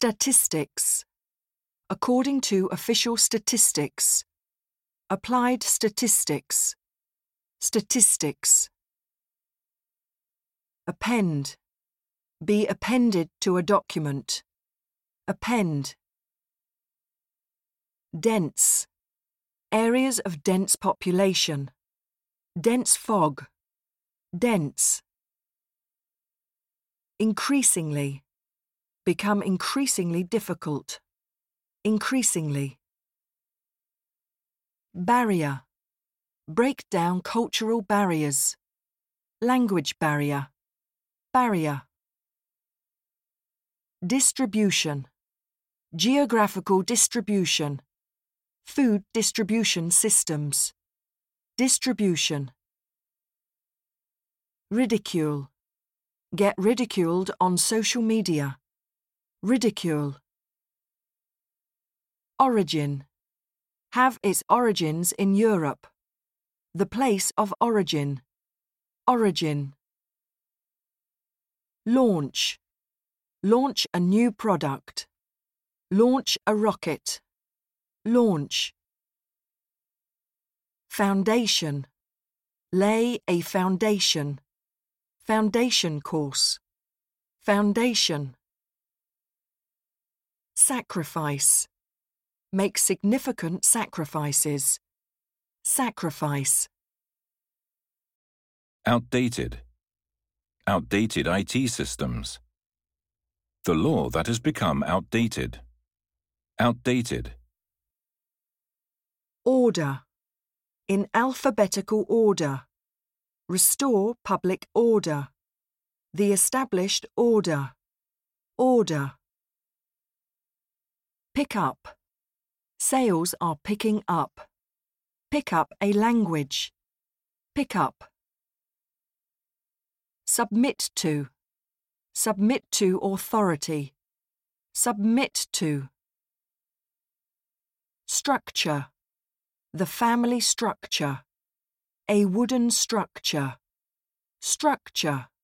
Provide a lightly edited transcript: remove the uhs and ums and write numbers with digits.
Statistics. According to official statistics. Applied statistics. Statistics. Append. Be appended to a document. Append. Dense. Areas of dense population. Dense fog. Dense. Increasingly. Become increasingly difficult. Increasingly. Barrier. Break down cultural barriers. Language barrier. Barrier. Distribution. Geographical distribution. Food distribution systems. Distribution. Ridicule. Get ridiculed on social media. Ridicule. Origin. Have its origins in Europe. The place of origin. Origin. Launch. Launch a new product. Launch a rocket. Launch. Foundation. Lay a foundation. Foundation course. Foundation. Sacrifice. Make significant sacrifices. Sacrifice. Outdated. Outdated IT systems. The law that has become outdated. Outdated. Order. In alphabetical order. Restore public order. The established order. Order. Pick up. Sales are picking up. Pick up a language. Pick up. Submit to. Submit to authority. Submit to. Structure. The family structure. A wooden structure. Structure.